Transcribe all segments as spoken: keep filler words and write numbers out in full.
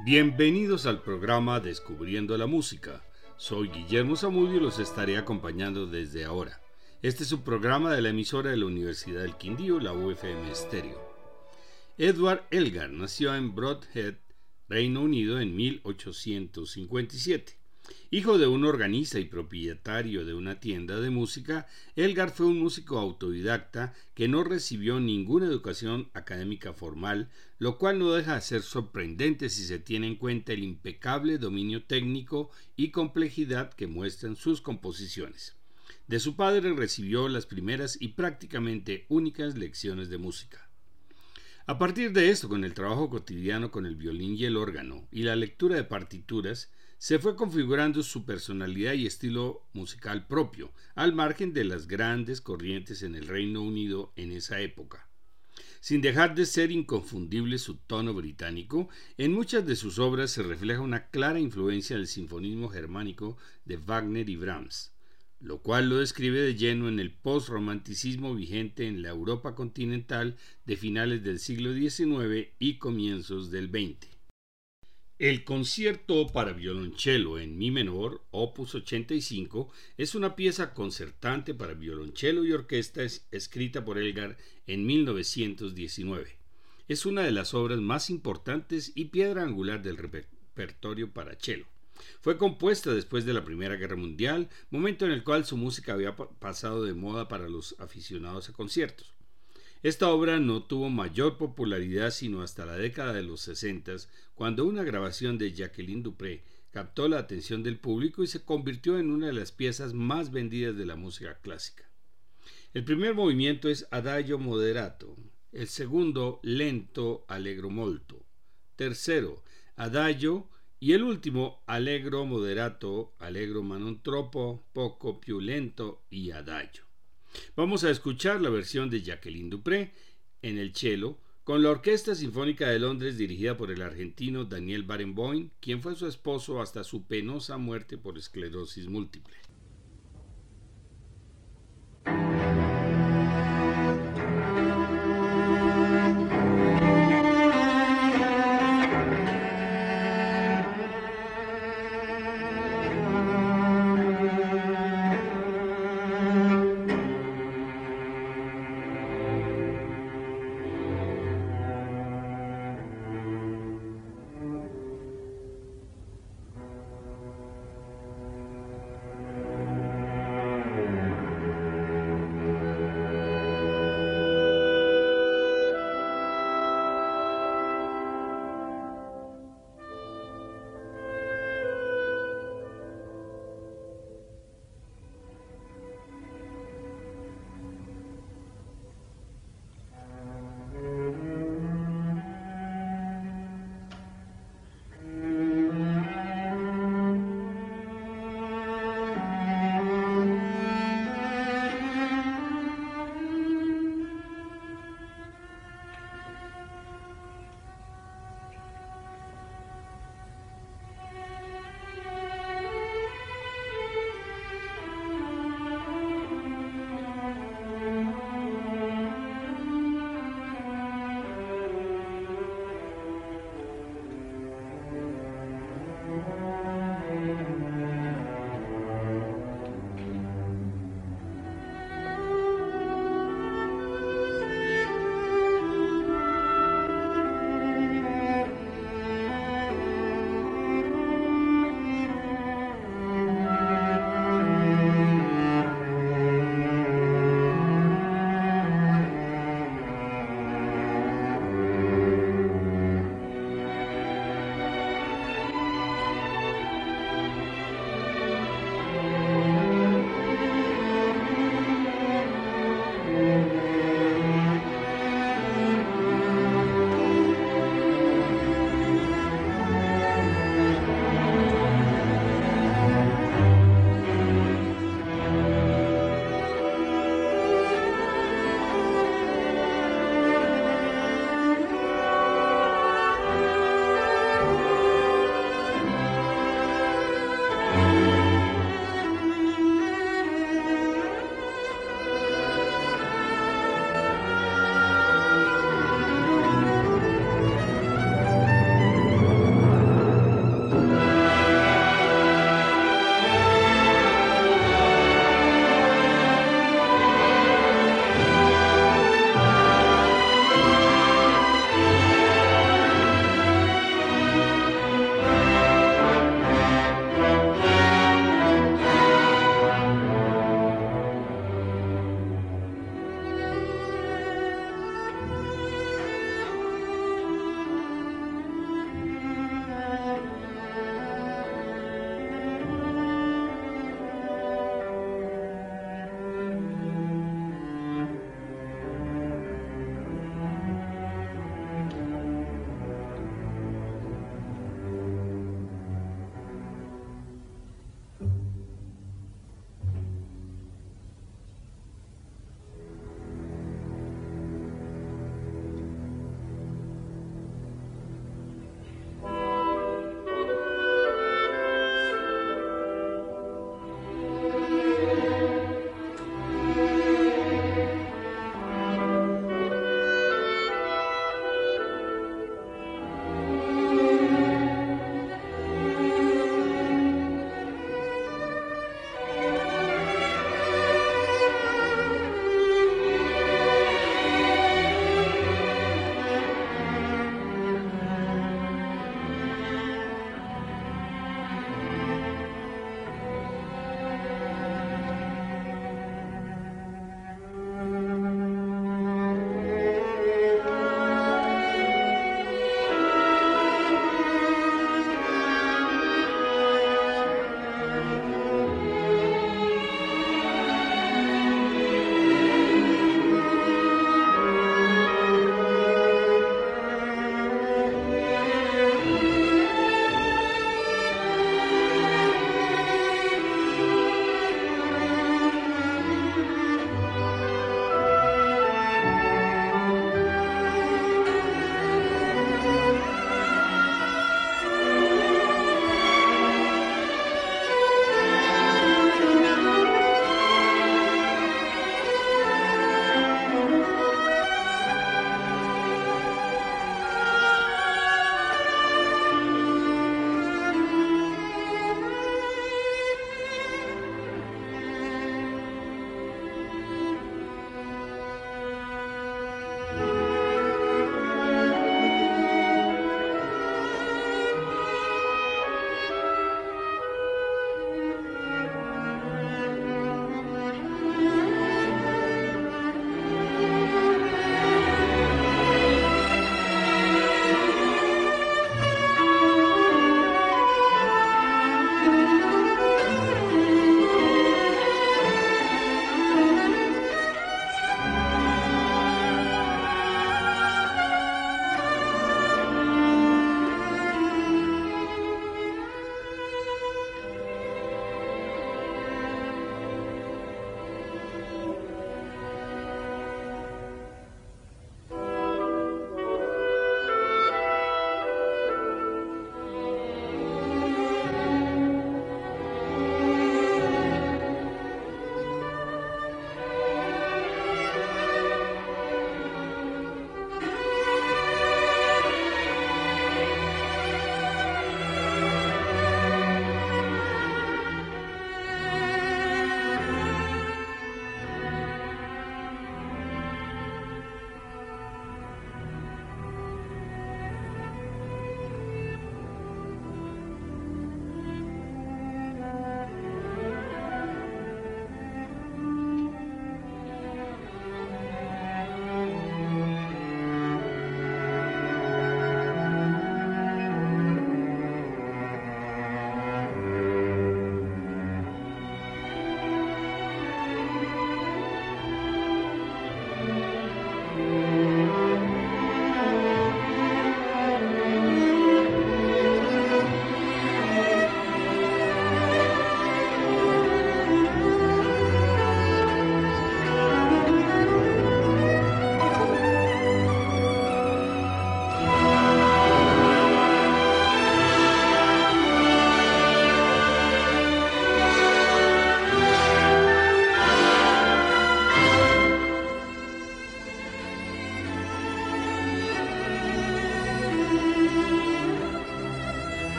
Bienvenidos al programa Descubriendo la Música. Soy Guillermo Zamudio y los estaré acompañando desde ahora. Este es un programa de la emisora de la Universidad del Quindío, la U F M Stereo. Edward Elgar nació en Brodhead, Reino Unido, en mil ochocientos cincuenta y siete. Hijo de un organista y propietario de una tienda de música, Elgar fue un músico autodidacta que no recibió ninguna educación académica formal, lo cual no deja de ser sorprendente si se tiene en cuenta el impecable dominio técnico y complejidad que muestran sus composiciones. De su padre recibió las primeras y prácticamente únicas lecciones de música. A partir de esto, con el trabajo cotidiano con el violín y el órgano y la lectura de partituras, se fue configurando su personalidad y estilo musical propio, al margen de las grandes corrientes en el Reino Unido en esa época. Sin dejar de ser inconfundible su tono británico, en muchas de sus obras se refleja una clara influencia del sinfonismo germánico de Wagner y Brahms, lo cual lo describe de lleno en el postromanticismo vigente en la Europa continental de finales del siglo diecinueve y comienzos del veinte. El concierto para violonchelo en mi menor, opus ochenta y cinco, es una pieza concertante para violonchelo y orquesta escrita por Elgar en mil novecientos diecinueve. Es una de las obras más importantes y piedra angular del repertorio para cello. Fue compuesta después de la Primera Guerra Mundial, momento en el cual su música había pasado de moda para los aficionados a conciertos. Esta obra no tuvo mayor popularidad sino hasta la década de los sesenta, cuando una grabación de Jacqueline du Pré captó la atención del público y se convirtió en una de las piezas más vendidas de la música clásica. El primer movimiento es Adagio moderato, el segundo lento allegro molto, tercero Adagio y el último allegro moderato, allegro ma non troppo, poco più lento y Adagio. Vamos a escuchar la versión de Jacqueline du Pré en el cello con la Orquesta Sinfónica de Londres dirigida por el argentino Daniel Barenboim, quien fue su esposo hasta su penosa muerte por esclerosis múltiple.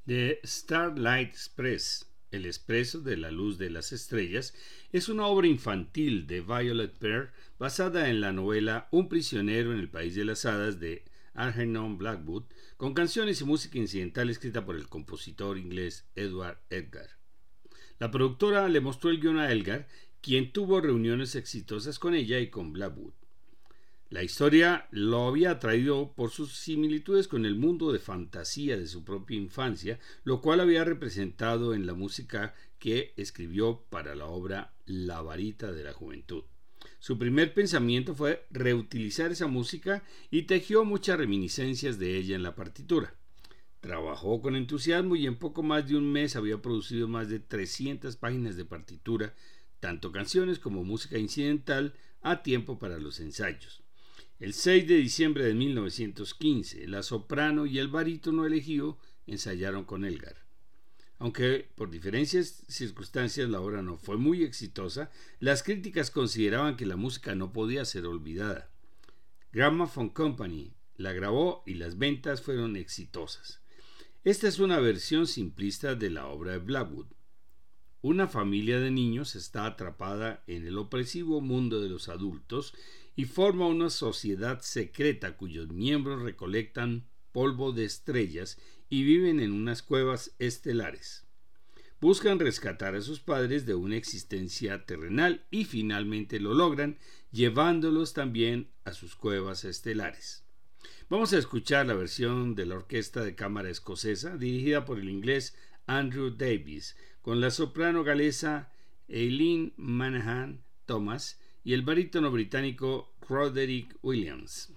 The Starlight Express, El Expreso de la Luz de las Estrellas, es una obra infantil de Violet Pearl basada en la novela Un prisionero en el País de las Hadas de Algernon Blackwood, con canciones y música incidental escrita por el compositor inglés Edward Elgar. La productora le mostró el guion a Elgar, quien tuvo reuniones exitosas con ella y con Blackwood. La historia lo había atraído por sus similitudes con el mundo de fantasía de su propia infancia, lo cual había representado en la música que escribió para la obra La varita de la juventud. Su primer pensamiento fue reutilizar esa música y tejió muchas reminiscencias de ella en la partitura. Trabajó con entusiasmo y en poco más de un mes había producido más de trescientas páginas de partitura, tanto canciones como música incidental, a tiempo para los ensayos. El seis de diciembre de mil novecientos quince, la soprano y el barítono elegido ensayaron con Elgar. Aunque por diferentes circunstancias la obra no fue muy exitosa, las críticas consideraban que la música no podía ser olvidada. Gramophone Company la grabó y las ventas fueron exitosas. Esta es una versión simplista de la obra de Blackwood. Una familia de niños está atrapada en el opresivo mundo de los adultos y forma una sociedad secreta cuyos miembros recolectan polvo de estrellas y viven en unas cuevas estelares. Buscan rescatar a sus padres de una existencia terrenal y finalmente lo logran, llevándolos también a sus cuevas estelares. Vamos a escuchar la versión de la Orquesta de Cámara Escocesa, dirigida por el inglés Andrew Davies, con la soprano galesa Eileen Manahan Thomas y el barítono británico Roderick Williams.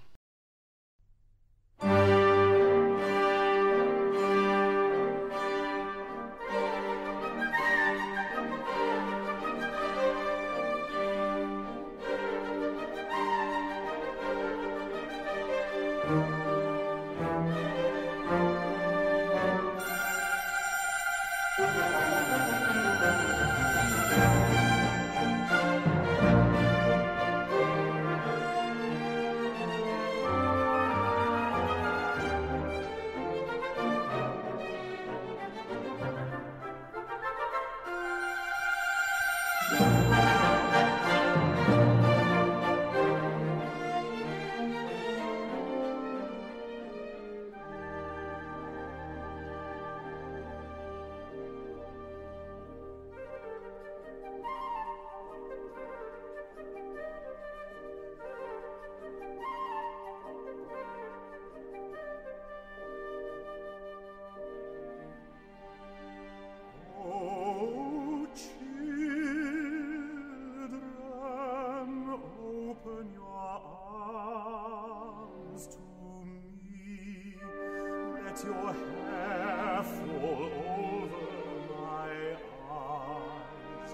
Your hair fall over my eyes.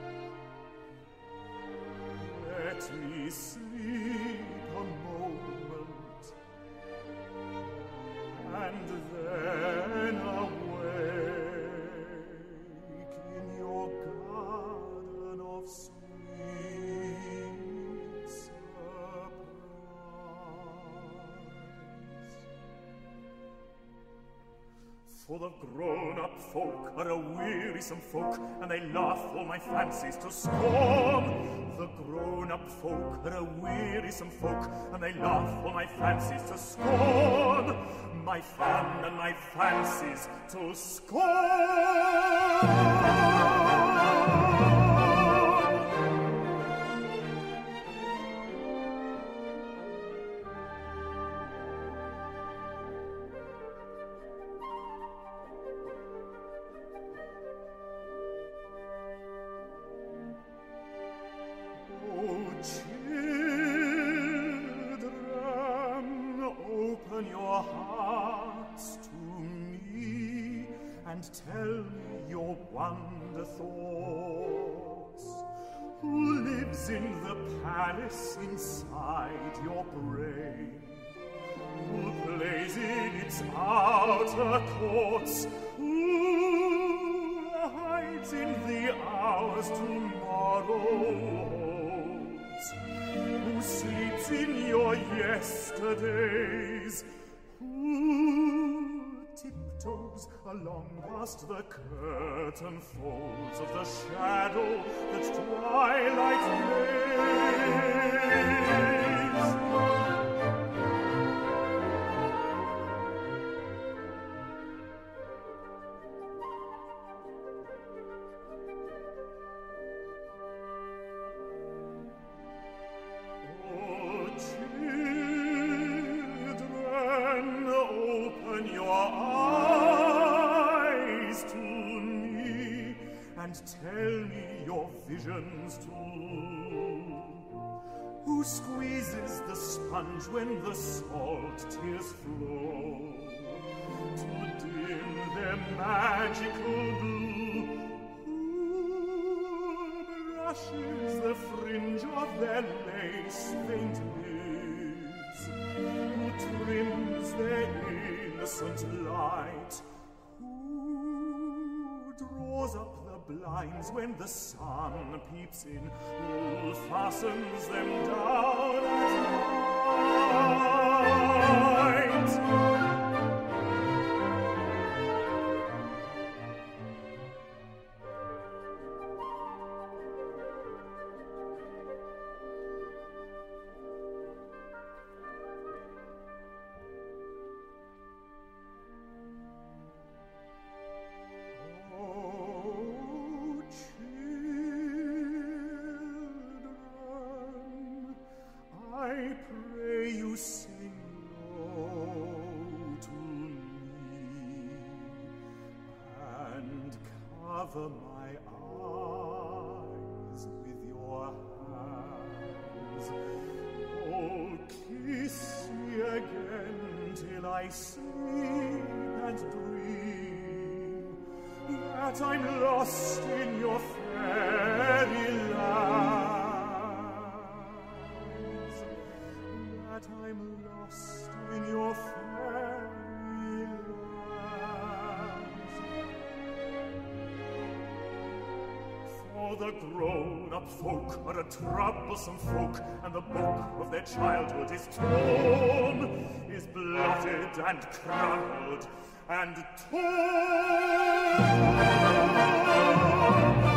Let me sleep a moment, and then awake in your garden of sweet surprise. For the grown-up folk are a wearisome folk, and they laugh all my fancies to scorn. The grown-up folk are a wearisome folk, and they laugh all my fancies to scorn. My fun and my fancies to scorn. Tell me your wonder thoughts. Who lives in the palace inside your brain? Who plays in its outer courts? Who hides in the hours tomorrow holds? Who sleeps in your yesterdays? Who tiptoes goes along past the curtain folds of the shadow that twilight lays. Tell me your visions too. Who squeezes the sponge when the salt tears flow to dim their magical blue? Who brushes the fringe of their lace faint lids? Who trims their innocent light? Who draws up blinds when the sun peeps in? Who fastens them down at night? Cover my eyes with your hands. Oh, kiss me again till I sleep and dream that I'm lost in your fairy lands, that I'm lost in your fairy The grown-up folk are a troublesome folk, and the book of their childhood is torn, is blotted and crumpled and torn.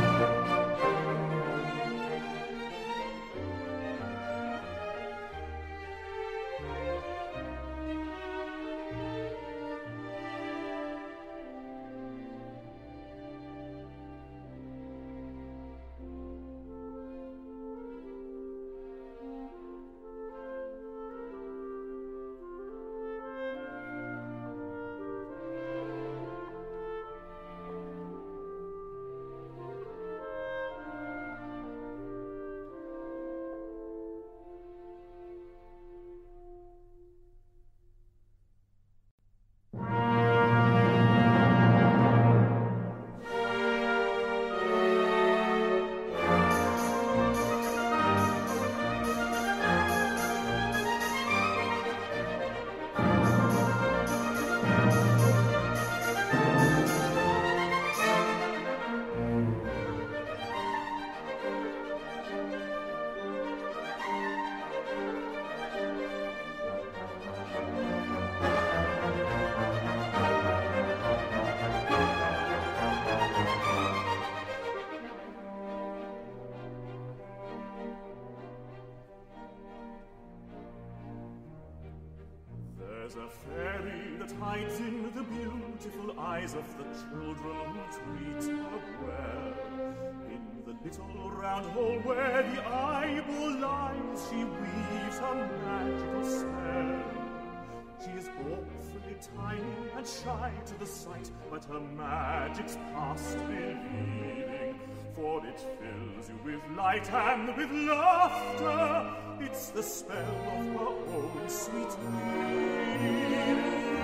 There's a fairy that hides in the beautiful eyes of the children who treat her well. In the little round hole where the eyeball lies, she weaves her magical spell. She is awfully tiny and shy to the sight, but her magic's past believing, for it fills you with light and with laughter. It's the spell of her own sweet weaving.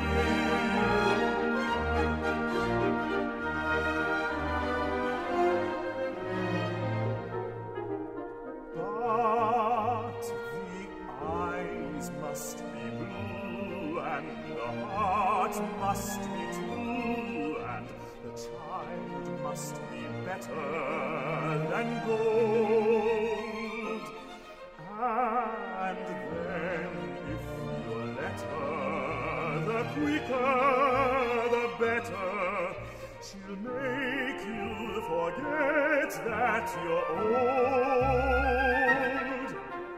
But the eyes must be blue, and the heart must be true, and the child must be better than gold. And then, if you let her, the quicker, the better. better. She'll make you forget that you're old.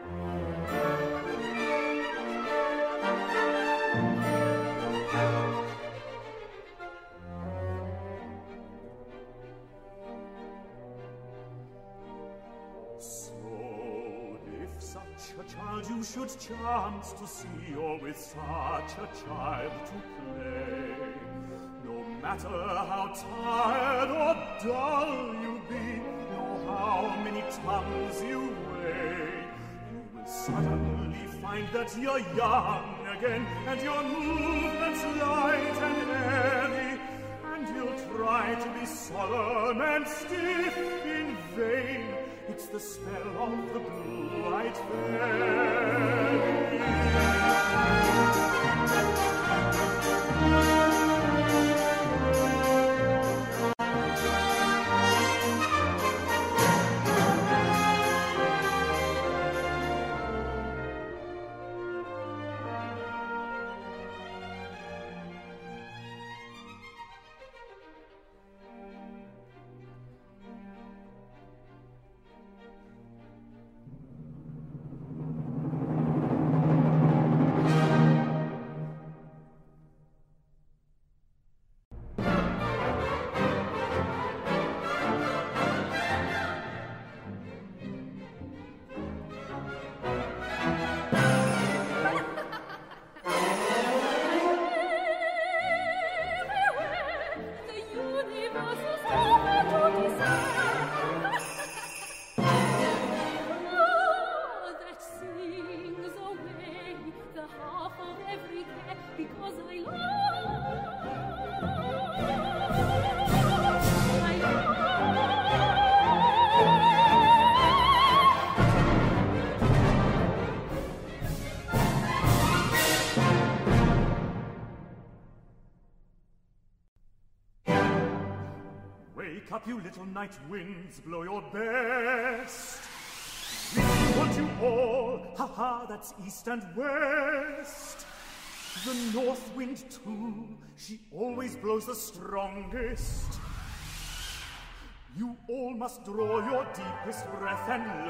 You should chance to see, or with such a child to play. No matter how tired or dull you be, nor how many tons you weigh, you will suddenly find that you're young again, and your movements light and airy, and you'll try to be solemn and stiff in vain. It's the spell of the blue-eyed fairy. Wake up, you little night winds, blow your best. We want you all, ha-ha, that's east and west. The north wind, too, she always blows the strongest. You all must draw your deepest breath and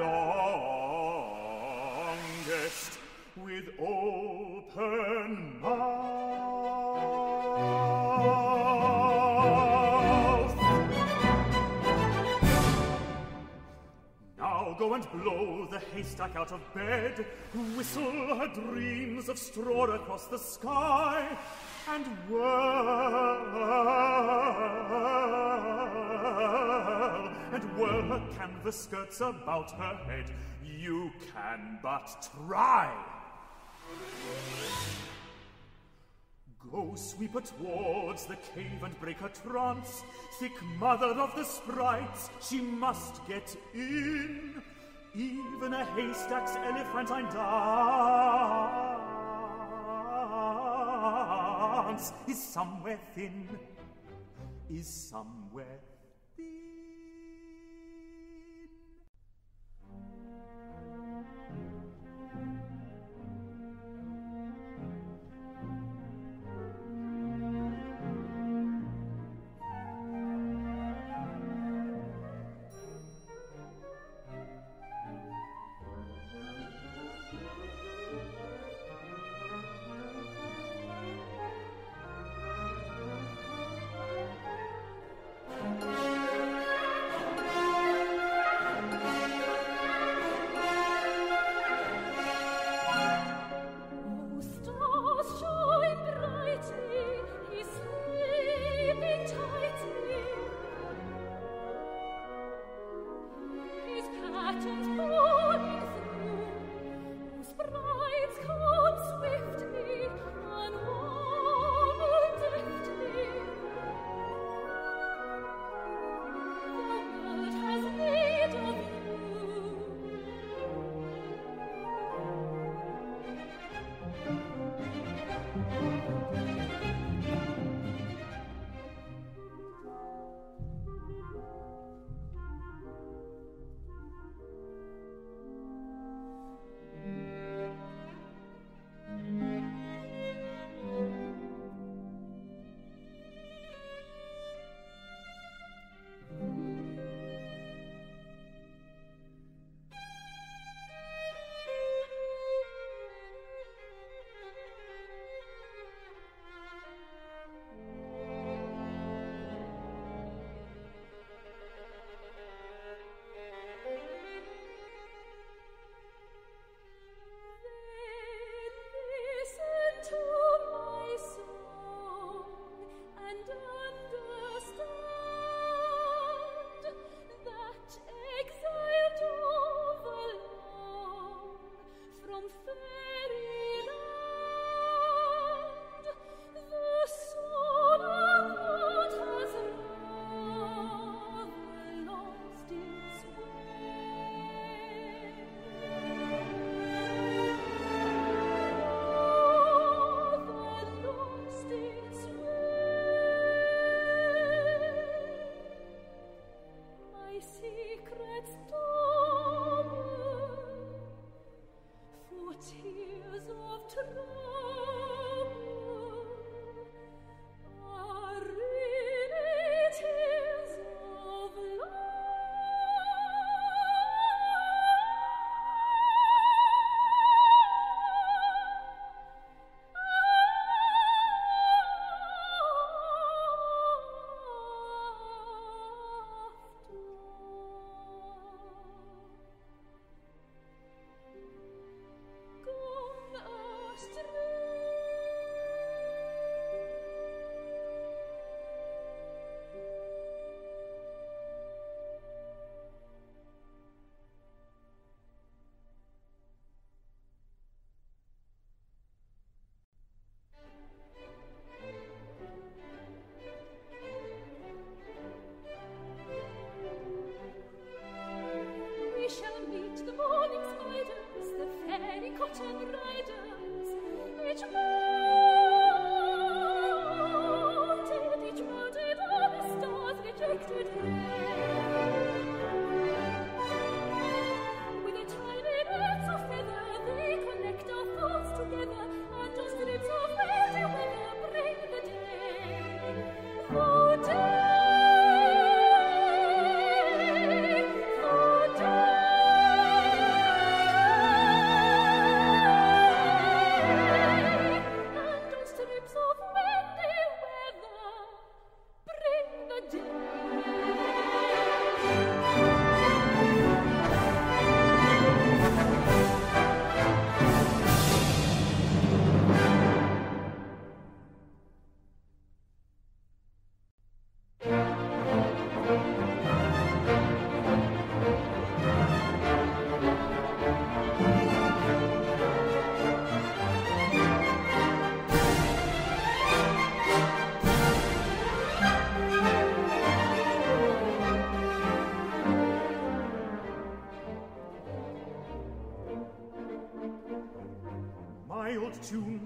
longest with open mouth. Now go and blow the haystack out of bed, whistle her dreams of straw across the sky, and whirl, and whirl her canvas skirts about her head. You can but try. Go sweep her towards the cave and break her trance. Thick mother of the sprites, she must get in. Even a haystack's elephantine dance is somewhere thin, is somewhere thin.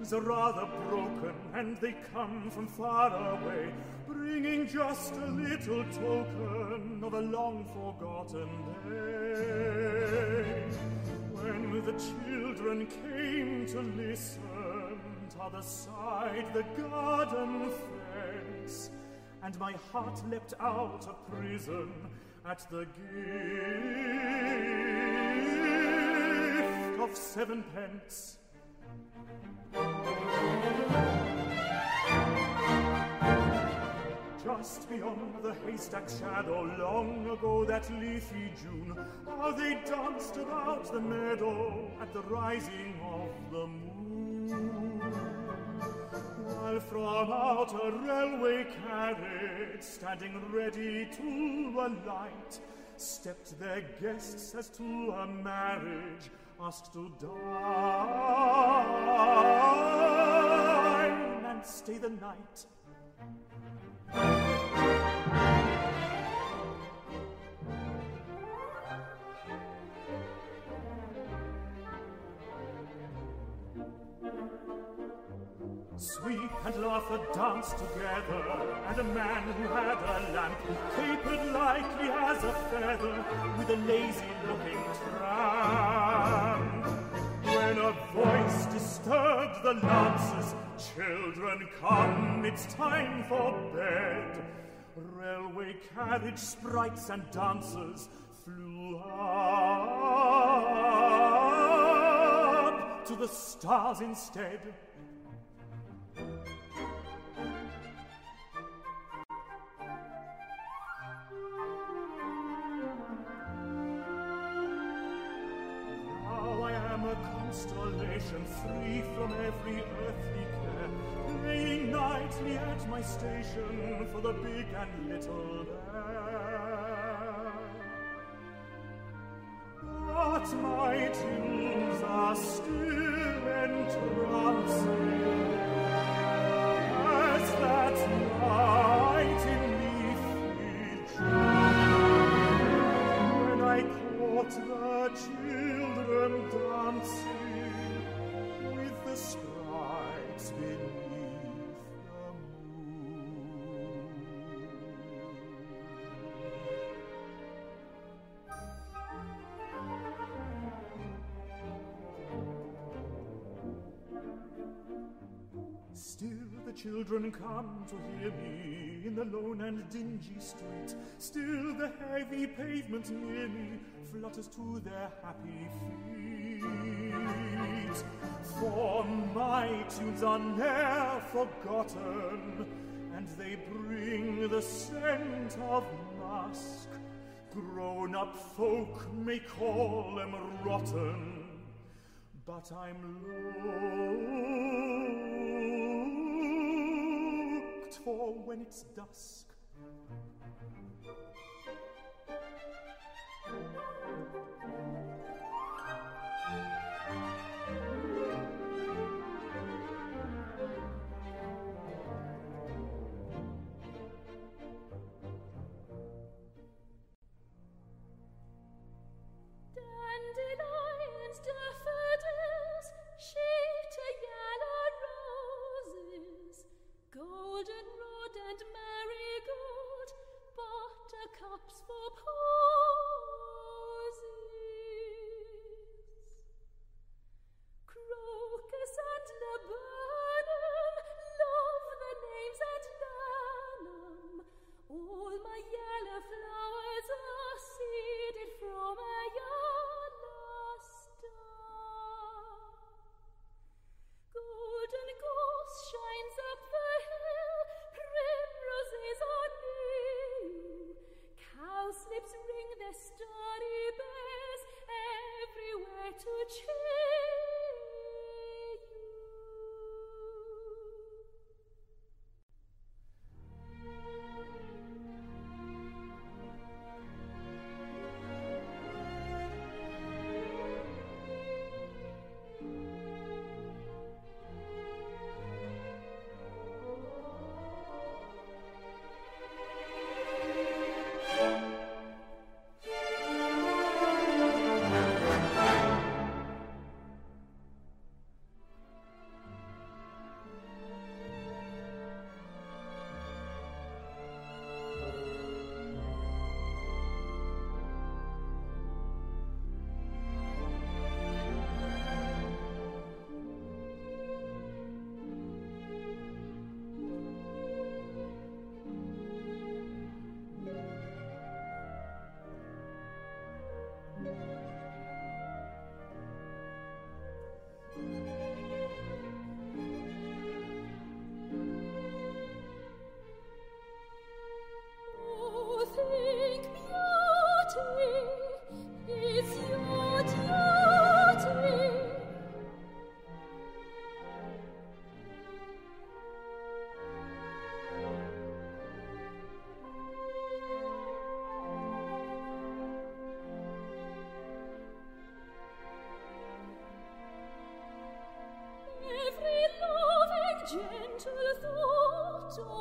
wings are rather broken, and they come from far away, bringing just a little token of a long-forgotten day. When the children came to listen, t'other side the garden fence, and my heart leapt out of prison at the gift of sevenpence. Just beyond the haystack shadow, long ago that leafy June, how they danced about the meadow at the rising of the moon. While from out a railway carriage, standing ready to alight, stepped their guests as to a marriage, asked to dine and stay the night. Sweet and laughter danced together, and a man who had a lamp capered lightly as a feather with a lazy-looking tramp. When a voice disturbed the lances, "Children, come, it's time for bed." Railway carriage sprites and dancers flew up to the stars instead. Constellation free from every earthly care, playing nightly at my station for the big and little there. But my tunes are still entrancing as that night in leafy June, when I caught the children dancing with the sprites beneath the moon. Still the children come to hear me in the lone and dingy street. Still the heavy pavement near me flutters to their happy feet. For my tunes are ne'er forgotten, and they bring the scent of musk. Grown-up folk may call them rotten, but I'm looked for when it's dusk. Dandelions, daffodils, shake to yellow roses, goldenrod and marigold, buttercups for posies. Crocus and laburnum, love the names and learn 'em. All my yellow flowers are seeded from a yellow star. Golden gorse shines up the hill, primroses are new, cowslips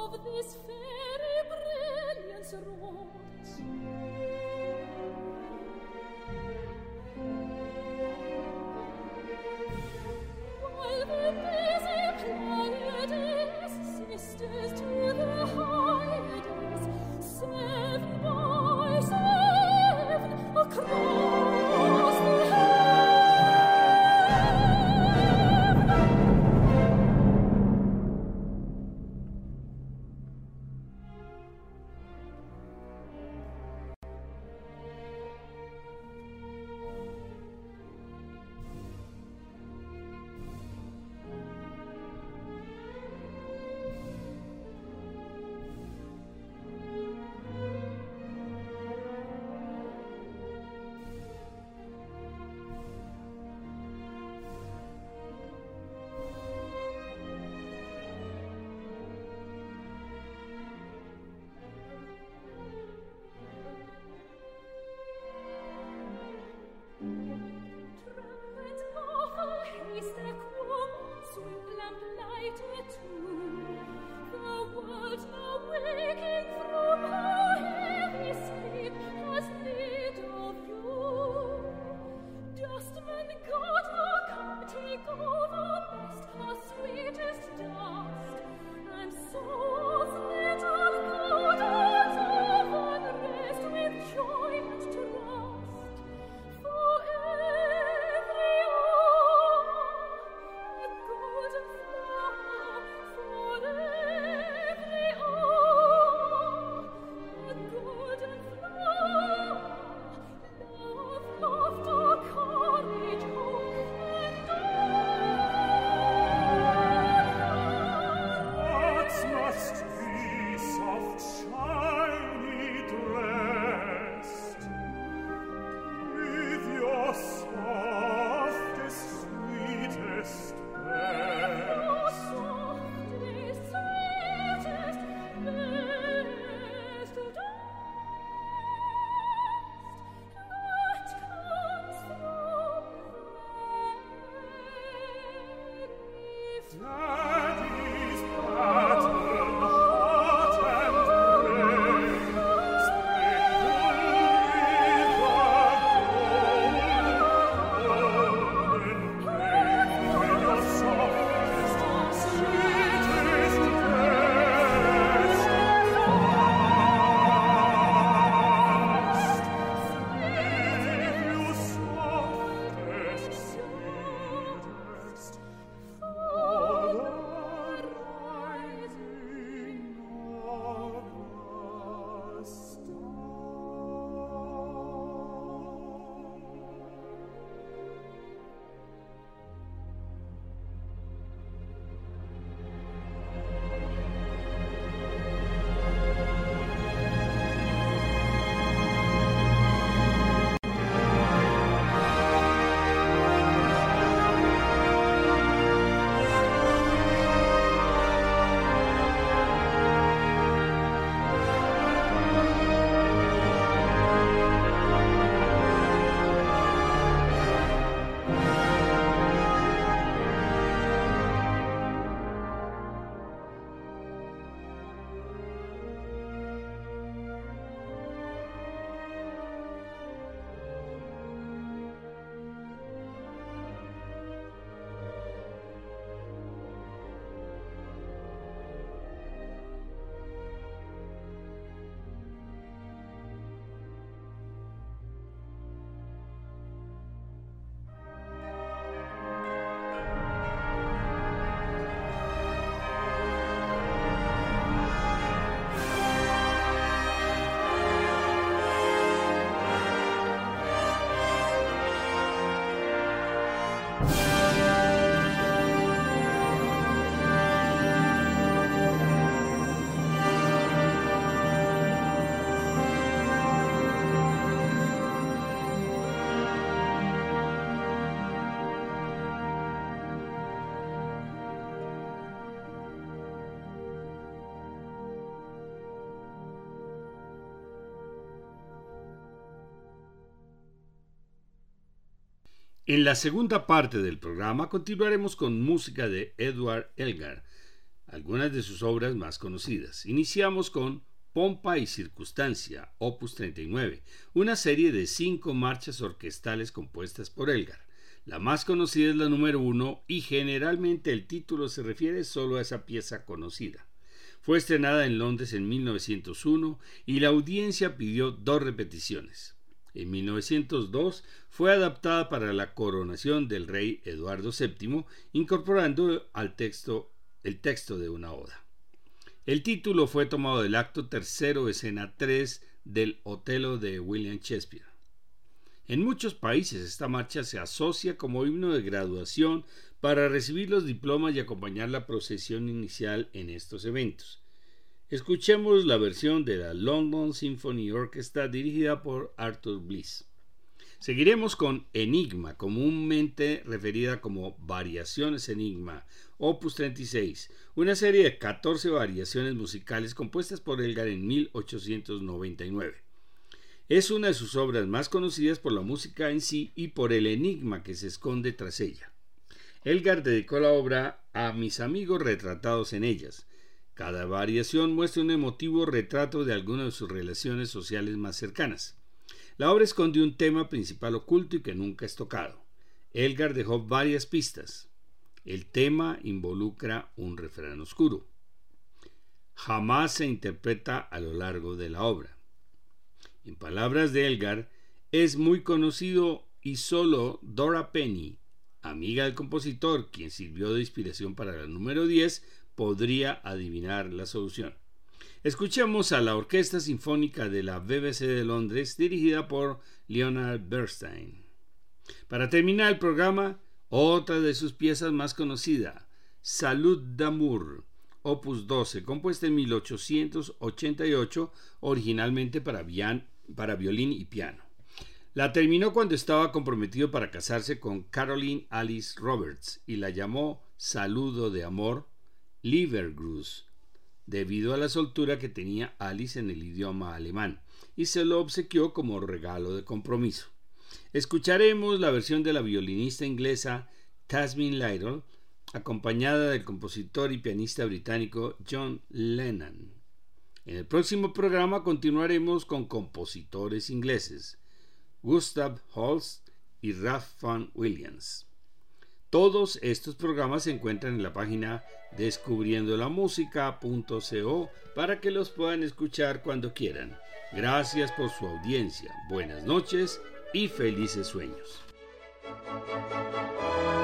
of this fairy brilliance wrought. While the busy Pleiades, sisters to the Hyades, seven by seven across the heaven. En la segunda parte del programa continuaremos con música de Edward Elgar, algunas de sus obras más conocidas. Iniciamos con Pompa y Circunstancia, opus treinta y nueve, una serie de cinco marchas orquestales compuestas por Elgar. La más conocida es la número uno y generalmente el título se refiere solo a esa pieza conocida. Fue estrenada en Londres en mil novecientos uno y la audiencia pidió dos repeticiones. En mil novecientos dos fue adaptada para la coronación del rey Eduardo séptimo, incorporando al texto el texto de una oda. El título fue tomado del acto tercero, escena tres del Otelo de William Shakespeare. En muchos países esta marcha se asocia como himno de graduación para recibir los diplomas y acompañar la procesión inicial en estos eventos. Escuchemos la versión de la London Symphony Orchestra dirigida por Arthur Bliss. Seguiremos con Enigma, comúnmente referida como Variaciones Enigma, opus treinta y seis, una serie de catorce variaciones musicales compuestas por Elgar en mil ochocientos noventa y nueve. Es una de sus obras más conocidas por la música en sí y por el enigma que se esconde tras ella. Elgar dedicó la obra a mis amigos retratados en ellas. Cada variación muestra un emotivo retrato de alguna de sus relaciones sociales más cercanas. La obra esconde un tema principal oculto y que nunca es tocado. Elgar dejó varias pistas. El tema involucra un refrán oscuro. Jamás se interpreta a lo largo de la obra. En palabras de Elgar, es muy conocido y solo Dora Penny, amiga del compositor, quien sirvió de inspiración para la número diez, podría adivinar la solución. Escuchemos a la Orquesta Sinfónica de la B B C de Londres, dirigida por Leonard Bernstein. Para terminar el programa, otra de sus piezas más conocida, Salud d'amour, opus doce, compuesta en mil ochocientos ochenta y ocho, originalmente para, vian, para violín y piano. La terminó cuando estaba comprometido para casarse con Caroline Alice Roberts y la llamó Saludo de amor, Liebesgruß, debido a la soltura que tenía Alice en el idioma alemán, y se lo obsequió como regalo de compromiso. Escucharemos la versión de la violinista inglesa Tasmin Lytle, acompañada del compositor y pianista británico John Lennon. En el próximo programa continuaremos con compositores ingleses, Gustav Holst y Ralph Vaughan Williams. Todos estos programas se encuentran en la página descubriendo la música punto co para que los puedan escuchar cuando quieran. Gracias por su audiencia, buenas noches y felices sueños.